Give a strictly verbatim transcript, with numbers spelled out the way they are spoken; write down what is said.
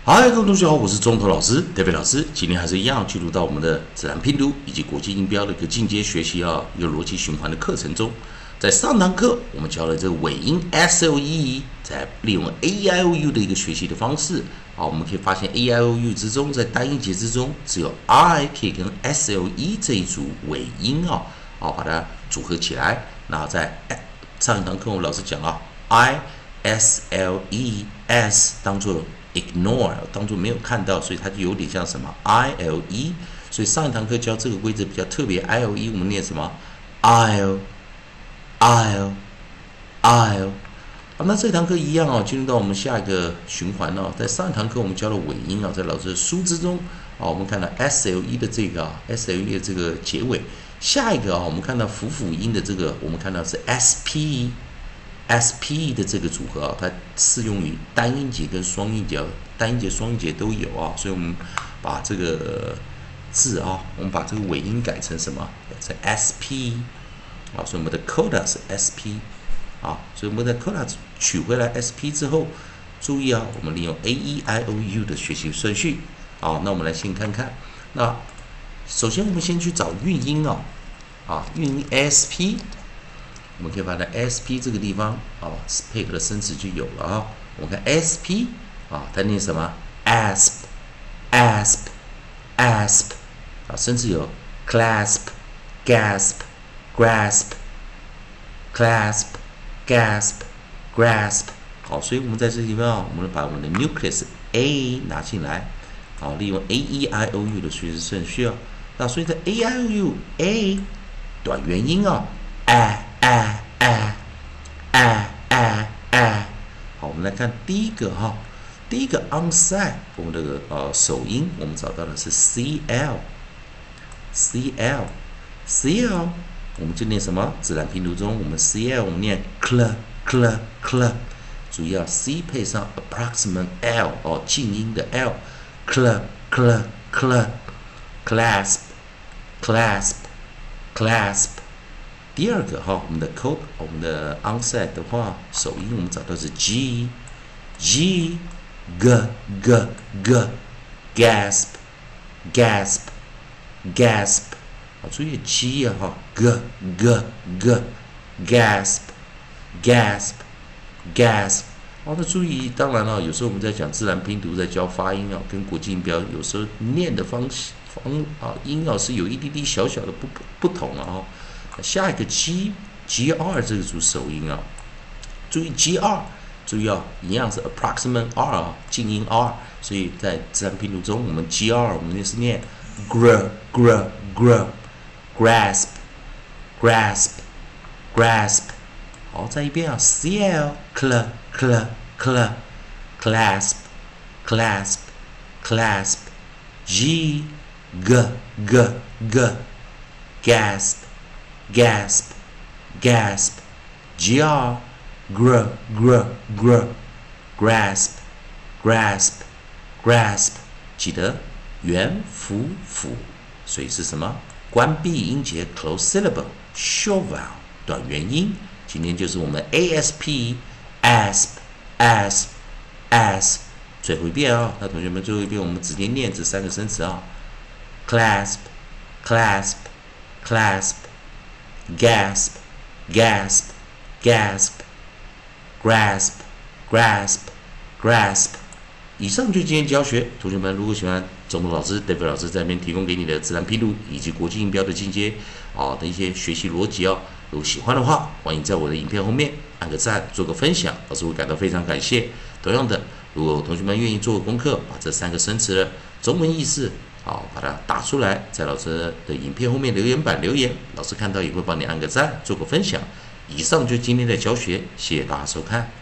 嗨，各位同学好，我是中头老师 David 老师。今天还是一样，进入到我们的自然拼读以及国际音标的一个进阶学习啊，一个逻辑循环的课程中。在上堂课我们教了这个尾音 S L E， 在利用 A E I O U 的一个学习的方式啊，我们可以发现 A E I O U 之中，在单音节之中，只有 I 可以跟 S L E 这一组尾音啊，啊把它组合起来。然后在上一堂课我们老师讲了 I S L E S 当做ignore 当作没有看到，所以它就有点像什么 I L E。所以上一堂课教这个规则比较特别 ，I L E 我们念什么 ？I'll I'll I'll。好，那这堂课一样哦，进入到我们下一个循环哦。在上一堂课我们教了尾音啊，在老师的书之中啊，我们看到 S L E 的这个啊 ，S L E 的这个结尾。下一个啊，我们看到辅辅音的这个，我们看到是 S P。S P 的这个组合啊，它适用于单音节跟双音节，单音节、双音节都有啊，所以我们把这个字啊，我们把这个尾音改成什么？是 S P 啊，所以我们的 coda 是 S P 啊，所以我们的 coda 取回来 S P 之后，注意啊，我们利用 A E I O U 的学习顺序啊，那我们来先看看，那首先我们先去找韵音啊，啊，韵音 S P。我们可以把它 S P 这个地方啊，配合的生词就有了啊。我们看 S P 啊，它念什么 ？asp，asp，asp 啊，生词有 clasp，gasp，grasp，clasp，gasp，grasp。好，所以我们在这地方啊，我们把我们的 nucleus A 拿进来，好，利用 A E I O U 的学习顺序啊。那所以在 A E I O U A 短元音啊，哎。哎哎哎哎哎，好，我们来看第一个哈，第一个 onside， 我们这个呃首音我们找到的是 C L，C L，C L， 我们就念什么？自然拼读中，我们 C L 我们念 cl cl cl， 注意啊 C 配上 approximate L 哦，静音的 L，cl cl cl clasp clasp clasp。第二个哈，我们的 code， 我们的 onset 的话，首音我们找到是 G G G G G gasp gasp gasp， 好，注意 G 啊哈 G G G gasp gasp gasp。好，那注意，当然了，有时候我们在讲自然拼读，在教发音啊，跟国际音标有时候念的方方啊音啊是有一滴滴小小的不不同了啊。下一个 G G R 这个组首音啊，注意 G R， 注意啊，一样是 approximate R 啊，静音 R， 所以在自然拼读中，我们 G R 我们也是念 gr gr gr grasp grasp grasp。好，再一遍啊 ，C L cl cl cl clasp clasp clasp G g g g gasp gasp gasp gr gr gr gr grasp grasp grasp。记得元辅辅，所以是什么？关闭音节 close syllable short vowel 短元音。今天就是我们 A S P asp asp asp。最后一遍啊，那同学们最后一遍我们直接念这三个生词啊 ，clasp clasp clasp gasp gasp gasp grasp grasp grasp。以上就是今天教学，同学们如果喜欢中文老师 David 老师在那边提供给你的自然拼读以及国际音标的进阶啊的一些学习逻辑哦，如果喜欢的话，欢迎在我的影片后面按个赞，做个分享，老师会感到非常感谢。同样的，如果同学们愿意做个功课，把这三个生词的中文意思好，把它打出来，在老师的影片后面留言板留言，老师看到也会帮你按个赞，做个分享。以上就是今天的教学，谢谢大家收看。